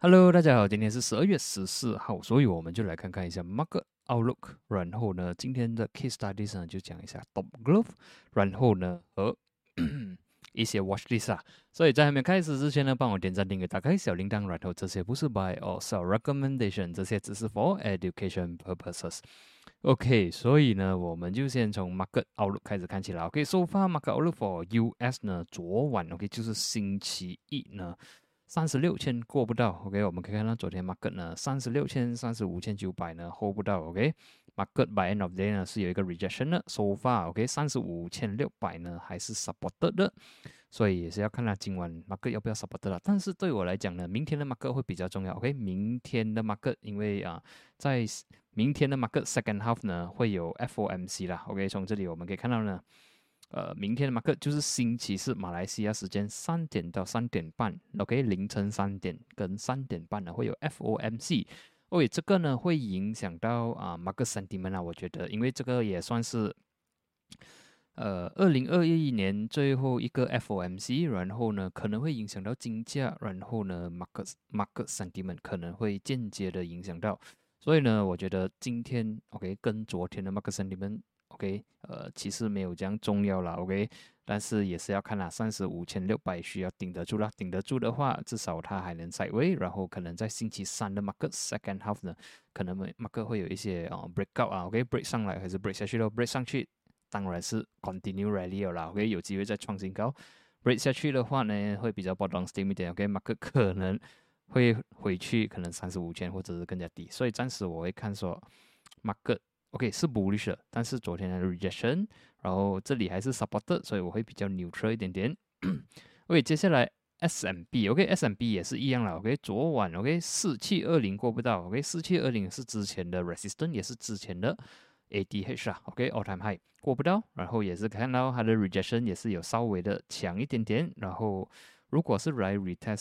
Hello，大家好，今天是12月14号，所以我们就来看看一下 Market Outlook。然后呢，今天的 Case Studies 呢就讲一下 Top Growth，然后呢和一些 Watch List 啊。所以在还没开始之前呢，帮我点赞、订阅、打开小铃铛。然后这些不是 Buy or Sell Recommendation，这些只是 for Education Purposes。OK，所以呢，我们就先从 Market Outlook 开始看起来。OK，so far Market Outlook for US 呢，昨晚 OK 就是星期一呢。36,000过不到，OK，我们可以看到昨天 market 呢36,000、35,900呢 hold 不到，OK，market by end of day 呢是有一个 rejection 的，so far，OK，35,600呢还是 supported 的，所以也是要看它今晚 market 要不要 support 了。但是对我来讲呢，明天的 market 会比较重要，OK，明天的 market 因为在明天的 market second half 呢会有 FOMC 啦，OK，从这里我们可以看到呢。明天的 market 就是星期四马来西亚时间3点到3点半，OK，凌晨3点跟3点半呢会有 FOMC，这个呢会影响到market sentiment 啊，我觉得，因为这个也算是2021年最后一个 FOMC，然后呢可能会影响到金价，然后呢 market sentiment 可能会间接的影响到，所以呢我觉得今天 OK 跟昨天的 market sentiment OK，其实没有这样重要啦，OK，但是也是要看啦，35,600需要顶得住啦，顶得住的话，至少它还能在位，然后可能在星期三的 market second half 呢，可能 market 会有一些breakout 啊，OK，break 上来还是 break 下去咯，break 上去当然是 continue rally 啦，OK，有机会再创新高，break 下去的话呢，会比较波动 steam 一点，OK，market 可能会回去可能35,000或者是更加低，所以暂时我会看说 market。OK 是 bullish 的，但是昨天的 rejection，然后这里还是 supported，所以我会比较 neutral 一点点。OK， 接下来 S&P，OK，S&P 也是一样了，OK，昨晚 OK 4720过不到，OK 4720是之前的 resistance，也是之前的 ADH 啊，OK all time high 过不到，然后也是看到它的 rejection 也是有稍微的强一点点，然后如果是来 retest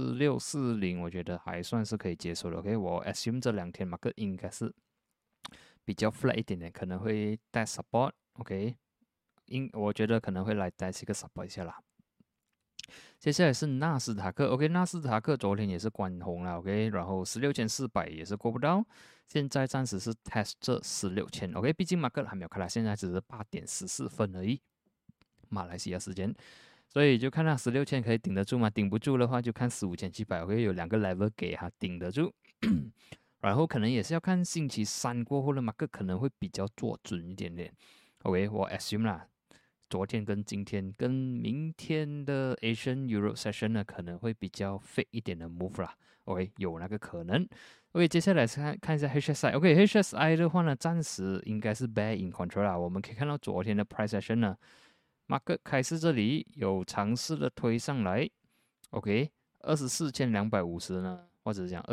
4640，我觉得还算是可以接受的，OK，我 assume 这两天 market 应该是。比较 flat 一点点，可能会带 support，OK，我觉得可能会来带一个 support 一下啦。接下来是纳斯达克，OK，纳斯达克昨天也是关红了，OK，然后16,400也是过不到，现在暂时是 test 这16,000，OK，毕竟 market 还没有开啦，现在只是8点14分而已，马来西亚时间，所以就看它16,000可以顶得住吗？顶不住的话就看15,700，OK，有两个 level 给它顶得住。然后可能也是要看星期三过后的 market 可能会比较做准一点点。OK，我 assume 啦，昨天跟今天跟明天的 Asian Euro Session 呢，可能会比较 fake 一点的 move 啦。OK，有那个可能。OK，接下来看一下 HSI。OK，HSI 的话呢，暂时应该是 bear in control 啦。我们可以看到昨天的 price session 呢，market 开始这里有尝试的推上来。OK，24,250呢？或者讲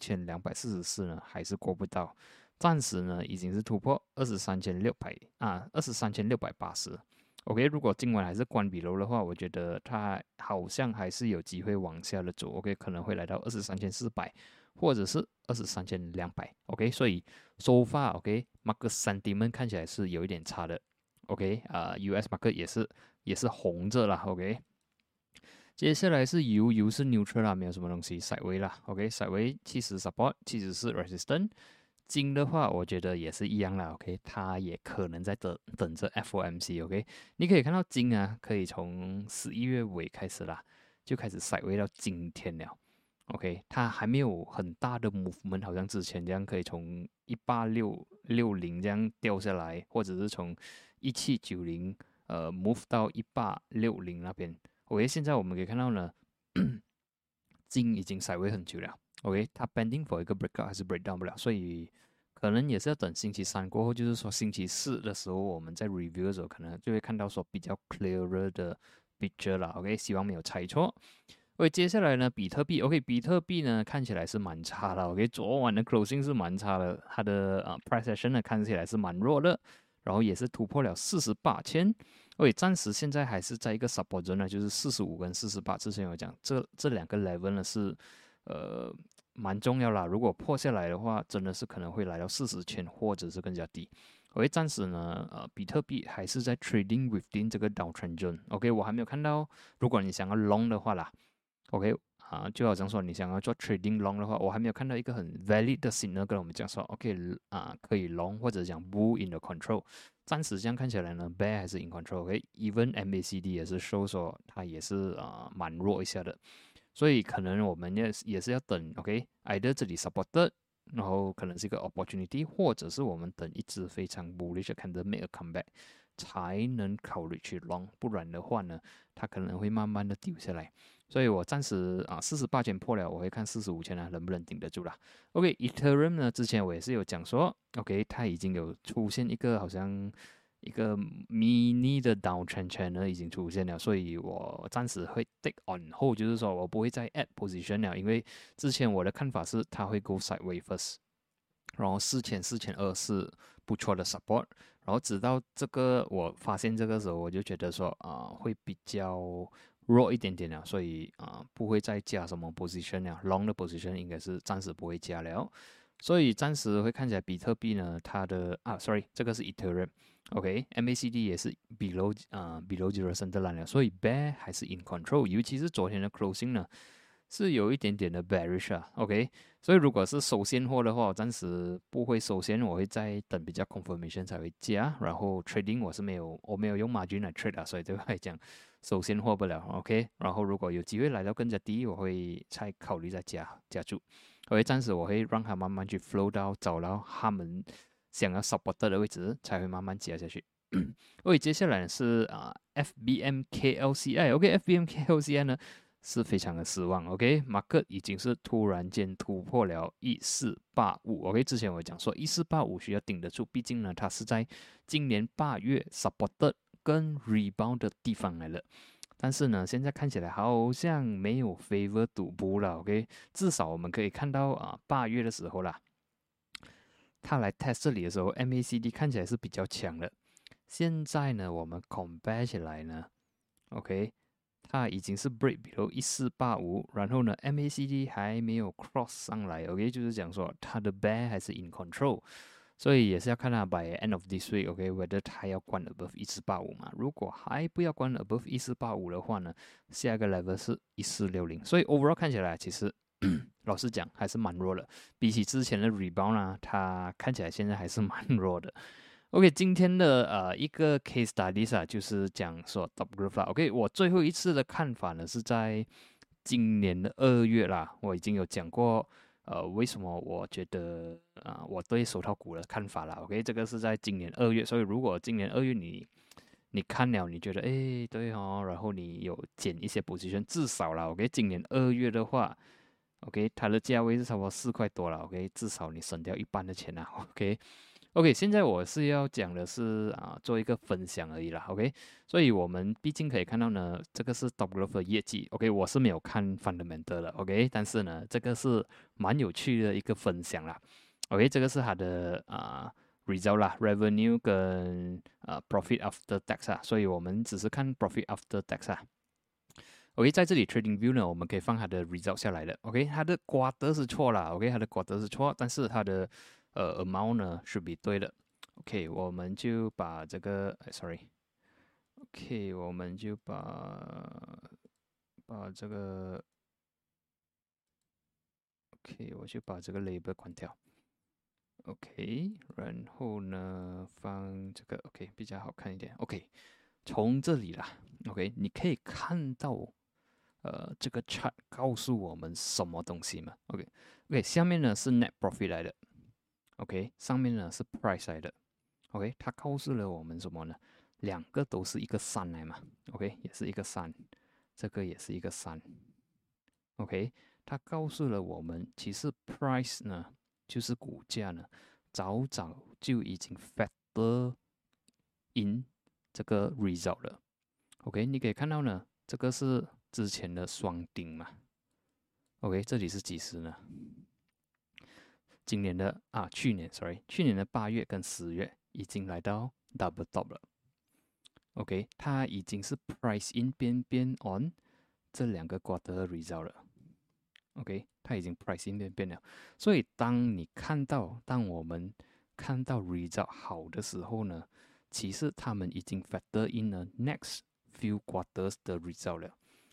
24,244呢，还是过不到，暂时呢已经是突破23,600啊，23,680。OK，如果今晚还是关闭楼的话，我觉得它好像还是有机会往下的走。OK，可能会来到23,400，或者是23,200。OK，所以 so far OK，market sentiment 看起来是有一点差的。OK，US market 也是红着啦。OK。接下来是油是 neutral 啦，没有什么东西 sideways 啦，OK，sideways 70 support，70是 resistance。金的话，我觉得也是一样啦，OK，它也可能在等着 FOMC，OK，你可以看到金啊，可以从11月尾开始啦，就开始 sideways 到今天了，OK，它还没有很大的 movement，好像之前这样可以从18660这样掉下来，或者是从1790move 到1860那边。OK，现在我们可以看到呢，金已经甩位很久了。OK，它 pending for 一个 breakout 还是 breakdown 不了，所以可能也是要等星期三过后，就是说星期四的时候，我们在 review 的时候，可能就会看到说比较 clearer 的 picture 了。OK，希望没有猜错。OK，接下来呢，比特币 OK，比特币呢看起来是蛮差的。OK，昨晚的 closing 是蛮差的，它的price action 呢看起来是蛮弱的，然后也是突破了48,000。暂时现在还是在一个 support zone 呢，就是45跟48。之前有讲，这两个 level 呢是蛮重要啦。如果破下来的话，真的是可能会来到40,000或者是更加低。暂时呢，比特币还是在 trading within 这个 downtrend zone。我还没有看到，如果你想要 long 的话啦，OK， 就好像说你想要做 trading long 的话，我还没有看到一个很 valid 的 signal 跟我们讲说 OK 可以 long 或者讲 bull in the control。暂时这样看起来呢 bear 还是 in control。OK，even MACD 也是说它也是蛮弱一下的，所以可能我们也是要等 OK，either 这里 supported， 然后可能是一个 opportunity， 或者是我们等一只非常 bullish 的 candle make a comeback 才能考虑去 long， 不然的话呢，它可能会慢慢的丢下来。所以我暂时48千破了，我会看45千能不能顶得住啦。OK，Ethereum 呢，之前我也是有讲说 ，OK， 它已经有出现一个好像一个 mini 的 downtrend channel 已经出现了，所以我暂时会 take on hold， 就是说我不会再 add position 了，因为之前我的看法是它会 go sideways first， 然后4200是不错的 support， 然后直到这个我发现这个时候，我就觉得说会比较弱一点点了，所以不会再加什么 position 了 ，long 的 position 应该是暂时不会加了，所以暂时会看起来比特币呢，它的sorry， 这个是 Ethereum。OK，MACD 也是 below 0 Centerline 了，所以 bear 还是 in control， 尤其是昨天的 closing 呢，是有一点点的 bearish 啊。OK，所以如果是收现货的话，我暂时不会收现，我会再等比较 confirmation 才会加。然后 trading 我没有用 margin 来 trade 所以对我来讲收现货不了。OK，然后如果有机会来到更加低，我会再考虑再加注。OK，暂时我会让它慢慢去 flow 到找到他们想要 support 的位置，才会慢慢加下去。OK， 接下来是FBMKLCI。OK，FBMKLCI 呢是非常的失望。OK，market 已经是突然间突破了1485。OK，之前我讲说1485需要顶得住，毕竟呢它是在今年8月 supported 跟 rebound 的地方来了。但是呢，现在看起来好像没有 favor 赌博了。OK，至少我们可以看到8月的时候啦，它来 test 这里的时候 ，MACD 看起来是比较强的。现在呢，我们 compare 起来呢 ，OK， 它已经是 break below 1485，然后呢 ，MACD 还没有 cross 上来，OK， 就是讲说它的 bear 还是 in control， 所以也是要看它 by end of this week，OK，whether 它要关 above 1485嘛。如果还不要关 above 1485的话呢，下一个 level 是1460，所以 overall 看起来其实老实讲还是蛮弱的，比起之前的 rebound 它看起来现在还是蛮弱的。OK，今天的一个 case studies 就是讲说 top growth 啦。OK，我最后一次的看法呢是在今年的2月啦，我已经有讲过为什么我觉得我对手套股的看法啦。OK，这个是在今年2月，所以如果今年2月你看了，你觉得诶对哦，然后你有减一些 position， 至少啦 OK， 今年2月的话 OK， 它的价位是差不多4块多了 OK， 至少你省掉一半的钱啦 OK，现在我是要讲的是做一个分享而已啦 OK， 所以我们毕竟可以看到呢，这个是 Top Growth 的业绩 OK， 我是没有看 fundamental 的 OK， 但是呢，这个是蛮有趣的一个分享啦 OK， 这个是它的result 啦 ，revenue 跟profit after tax 所以我们只是看 profit after tax OK， 在这里 Trading View 呢，我们可以放它的 result 下来的。OK， 它的瓜德是错了。OK， 它的瓜德是错，但是它的amount 呢是比对的。OK， 我们就把这个，sorry，OK， 我们就把这个 OK， 我就把这个 label 关掉。OK， 然后呢放这个 OK 比较好看一点。OK， 从这里啦 OK， 你可以看到。这个 chart 告诉我们什么东西嘛 ？OK，下面呢是 net profit 来的 ，OK， 上面呢是 price 来的 ，OK， 它告诉了我们什么呢？两个都是一个山来嘛 ，OK， 也是一个山，这个也是一个山 ，OK， 它告诉了我们，其实 price 呢就是股价呢，早早就已经 factor in 这个 result 了 ，OK， 你可以看到呢，这个是之前的双顶嘛 ，OK， 这里是几时呢？今年的去年的8月跟10月已经来到 double top 了 ，OK， 它已经是 price in 边 on 这两个 quarter result 了 ，OK， 它已经 price in 边了，所以当我们看到 result 好的时候呢，其实他们已经 factor in 了 next few quarters 的 result 了。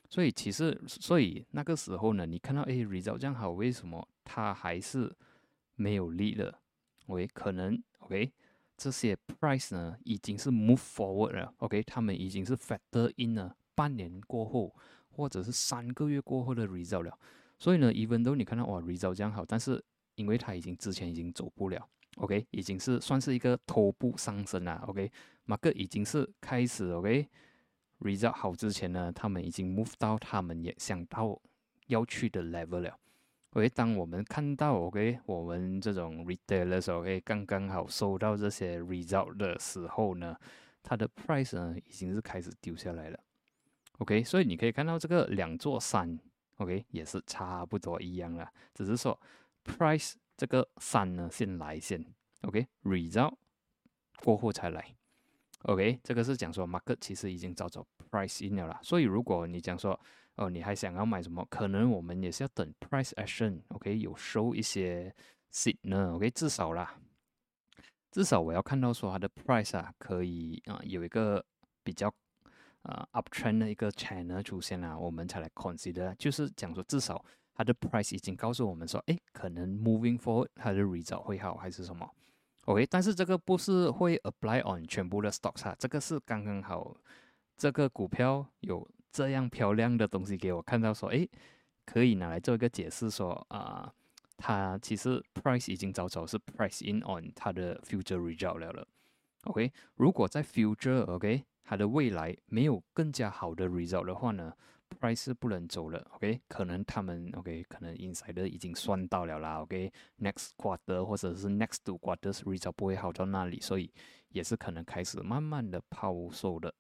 所以那个时候呢，你看到result 这样好，为什么它还是没有力了？OK，可能 OK 这些 price 呢已经是 move forward 了，OK， 他们已经是 factor in 了半年过后或者是3个月过后的 result 了。所以呢，even though 你看到哇 result 这样好，但是因为它之前已经走不了，OK， 已经是算是一个头部上升了，OK，market 已经是开始 OK。result 好之前呢，他们已经 move 到他们也想到要去的 level 了。OK，当我们看到 OK 我们这种 retailers OK 刚刚好收到这些 result 的时候呢，它的 price 呢已经是开始丢下来了。OK，所以你可以看到这个两座山 OK 也是差不多一样了，只是说 price 这个山呢先来先 OK result 过后才来。OK， 这个是讲说 market 其实已经早早 price in 了啦，所以如果你讲说你还想要买什么，可能我们也是要等 price action OK 有收一些 signal OK 至少我要看到说它的 price 可以有一个比较uptrend 的一个 channel 出现了，我们才来 consider， 就是讲说至少它的 price 已经告诉我们说，可能 moving forward 它的 result 会好还是什么。OK， 但是这个不是会 apply on 全部的 stocks 这个是刚刚好，这个股票有这样漂亮的东西给我看到说，可以拿来做一个解释说它其实 price 已经早早是 price in on 它的 future result 了。OK， 如果在 future OK 它的未来没有更加好的 result 的话呢， price 是不能走了 OK， 可能他们 OK 可能 insider 已经算到了啦 OK， next quarter 或者是 next 2 quarters result 不会好到那里，所以也是可能开始慢慢的抛售的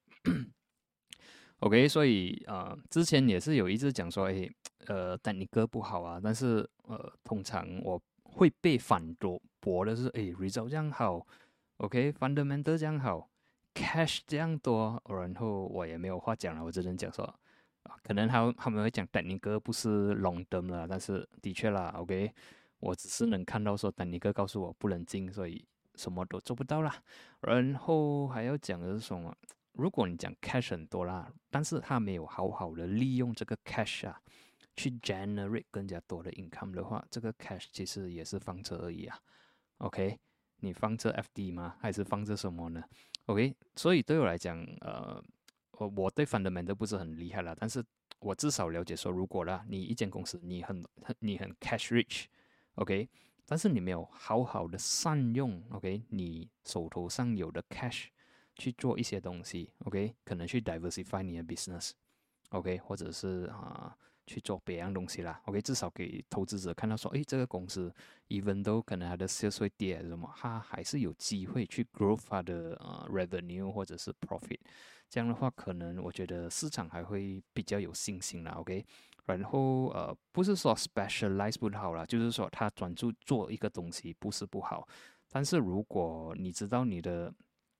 OK， 所以之前也是有一直讲说但你哥不好啊，但是通常我会被反驳的是result 这样好 OK fundamental 这样好 cash 这样多，然后我也没有话讲了，我只能讲说可能他们会讲丹尼哥不是 long term 了，但是的确啦 OK， 我只是能看到说丹尼哥告诉我不能进，所以什么都做不到啦。然后还要讲的是什么？如果你讲 cash 很多啦，但是他没有好好的利用这个 cash 去 generate 更加多的 income 的话，这个 cash 其实也是放着而已OK， 你放着 FD 吗？还是放着什么呢 ？OK， 所以对我来讲，我对 fundamental 不是很厉害啦，但是我至少了解说，如果啦，你一间公司你很 cash rich，OK，但是你没有好好的善用 OK 你手头上有的 cash 去做一些东西 OK， 可能去 diversify 你的 business OK， 或者是去做别样东西啦 OK， 至少给投资者看到说，这个公司 even though 可能它的 sales 会跌还是什么，它还是有机会去 grow 它的revenue 或者是 profit， 这样的话可能我觉得市场还会比较有信心啦 OK。然后不是说 specialize 不好啦，就是说他专注做一个东西不是不好，但是如果你知道你的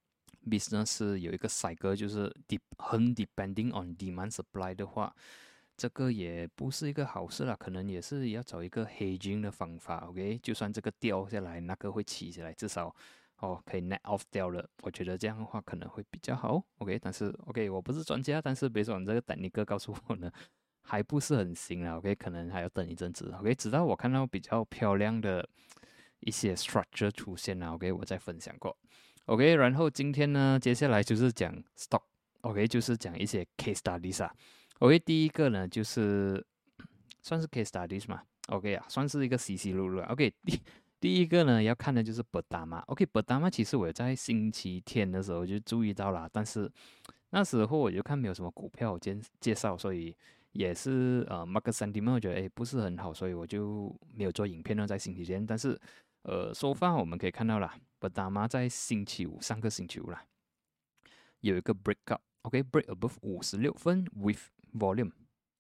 business 有一个 cycle， 就是很 depending on demand supply 的话，这个也不是一个好事啦，可能也是要找一个 hedging 的方法 OK， 就算这个掉下来，那个会起起来，至少可以 net off 掉了，我觉得这样的话可能会比较好 OK， 但是 OK 我不是专家，但是别说你这个等尼哥告诉我呢还不是很行啦 OK， 可能还要等一阵子 OK， 直到我看到比较漂亮的一些 structure 出现了 OK， 我再分享过 OK， 然后今天呢接下来就是讲 stock OK， 就是讲一些 case studies OK， 第一个呢就是算是 case studies 嘛 OK 算是一个稀稀落落 OK， 第一个呢要看的就是 Pertama OK， Pertama 其实我在星期天的时候就注意到了，但是那时候我就看没有什么股票介绍，所以也是market sentiment 我觉得不是很好，所以我就没有做影片呢在星期天。但是so far 我们可以看到啦 Pertama 在星期五上个星期五啦有一个 breakout OK break above 56分 with volume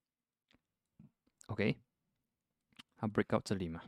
OK， 它 breakout 这里嘛，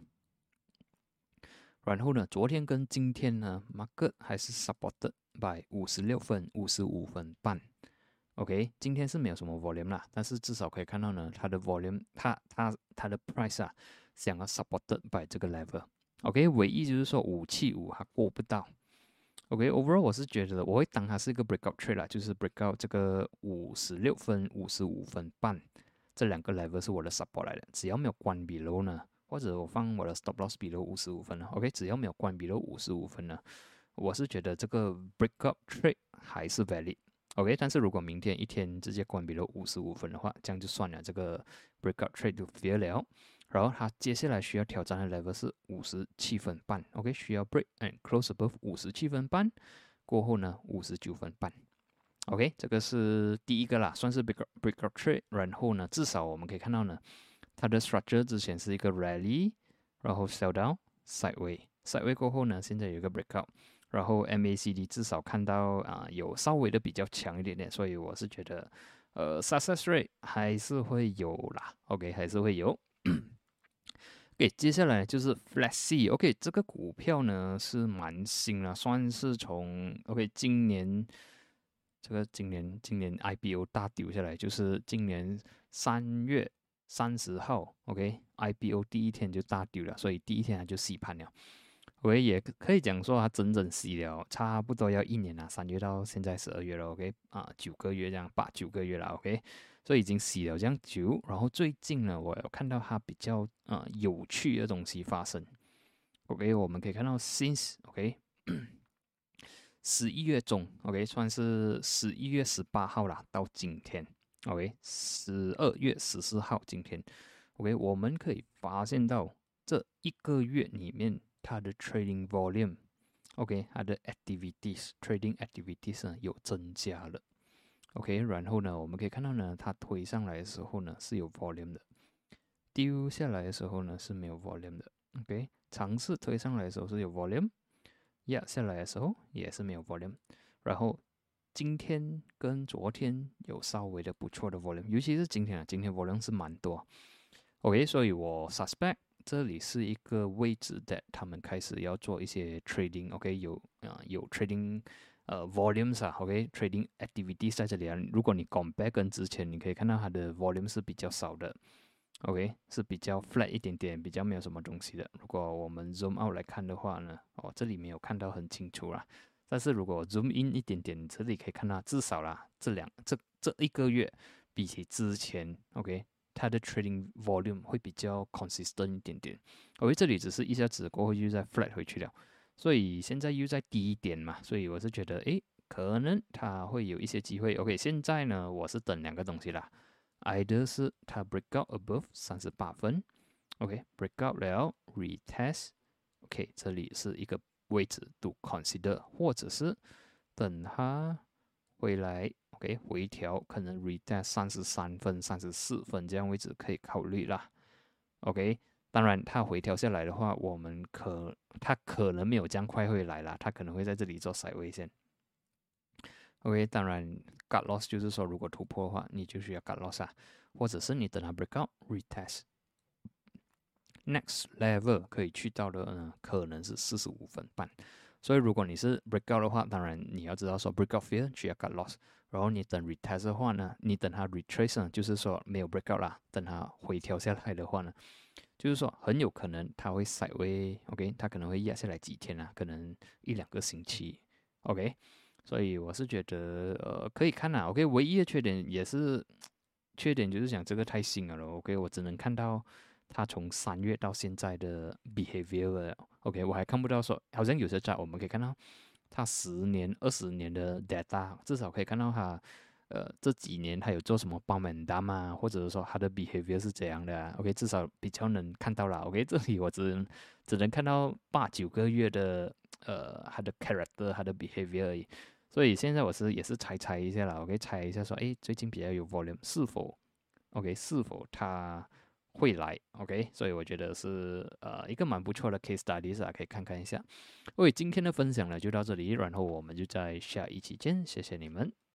然后呢昨天跟今天呢 market 还是 supported by 56分55分半OK， 今天是没有什么 volume 啦，但是至少可以看到呢，它的 volume， 它的 price 想要 supported by 这个 level。OK， 唯一就是说575它过不到。OK，overall 我是觉得我会当它是一个 breakout trade 啦，就是 breakout 这个56分55分半这两个 level 是我的 support 来的，只要没有关 below 呢，或者我放我的 stop loss below 55分呢 ，OK， 只要没有关 below 55分呢，我是觉得这个 breakout trade 还是 valid。OK， 但是如果明天一天直接关闭了55分的话，这样就算了，这个 breakout trade 就 fail 了。然后它接下来需要挑战的 level 是57分半 ，OK， 需要 break and close above 57分半，过后呢59分半。OK， 这个是第一个啦，算是 breakout trade。然后呢，至少我们可以看到呢，它的 structure 之前是一个 rally， 然后 sell down sideway 过后呢，现在有一个 breakout。然后 MACD 至少看到有稍微的比较强一点点，所以我是觉得success rate 还是会有啦 ，OK 还是会有。OK， 接下来就是 Flexi，OK， 这个股票呢是蛮新了，算是从 OK 今年 IPO 大丢下来，就是今年3月30号 ，OK IPO 第一天就大丢了，所以第一天它就洗盘了。OK， 也可以讲说它整整洗了差不多要1年了，3月到现在12月了 ，OK 9个月这样，8、9个月了 ，OK， 所以已经洗了这样久。然后最近呢，我有看到它比较有趣的东西发生。OK， 我们可以看到 since OK 11月中 OK 算是11月18号啦，到今天 OK 12月14号今天 OK， 我们可以发现到这一个月里面。它的 trading volume，OK， 它的 trading activities 呢有增加了 ，OK， 然后呢，我们可以看到呢，它推上来的时候呢是有 volume 的，丢下来的时候呢是没有 volume 的 ，OK， 尝试推上来的时候是有 volume， 压下来的时候也是没有 volume， 然后今天跟昨天有稍微的不错的 volume， 尤其是今天volume 是蛮多 ，OK， 所以我 suspect。这里是一个位置的，他们开始要做一些 trading，OK， 有 trading volumes 啊 ，OK，trading activities 在这里啊。如果你 compare 跟之前，你可以看到它的 volume 是比较少的 ，OK， 是比较 flat 一点点，比较没有什么东西的。如果我们 zoom out 来看的话呢，这里没有看到很清楚啦。但是如果 zoom in 一点点，这里可以看到至少啦，这一个月比起之前 ，OK。它的 trading volume 会比较 consistent 一点点，这里只是一下子过后又再 flat 回去了，所以现在又在低一点嘛，所以我是觉得，可能它会有一些机会。OK， 现在呢，我是等两个东西啦 ，either 是它 break out above 38分 ，OK，break out 了 retest，OK， 这里是一个位置 to consider， 或者是等它回来。OK， 回调可能 retest 33分、34分这样位置可以考虑啦。OK， 当然它回调下来的话，它可能没有这样快会来啦，它可能会在这里做 sideway 线。OK， 当然 cut loss 就是说如果突破的话，你就需要 cut loss 啊，或者是你等它 break out retest。Next level 可以去到的呢，可能是45分半。所以如果你是 breakout 的话，当然你要知道说 breakout fear 需要 cut loss， 然后你等 retest 的话呢，你等它 retrace 呢，就是说没有 breakout 啦，等它回调下来的话呢，就是说很有可能它会 sideway，OK， 它可能会压下来几天啊，可能1-2个星期 ，OK， 所以我是觉得可以看啦 ，OK， 唯一的缺点就是讲这个太新了 ，OK， 我只能看到它从3月到现在的 behavior，OK， 我还看不到说，好像有些在我们可以看到它10年、20年的 data， 至少可以看到它这几年它有做什么帮忙单啊，或者是说它的 behavior 是怎样的啊 ，OK， 至少比较能看到啦 ，OK， 这里我只能看到8、9个月的它的 character、它的 behavior 而已。所以现在我也是猜一下啦，OK， 猜一下说，最近比较有 volume， 是否它会来 ，OK， 所以我觉得是一个蛮不错的 case studies 啊，可以看看一下。今天的分享呢就到这里，然后我们就在下一期见，谢谢你们。